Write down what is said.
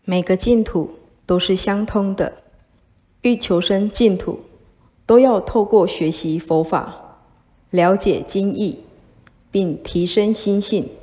每个净土都是相通的，欲求生净土，都要透过学习佛法，了解经义，并提升心性。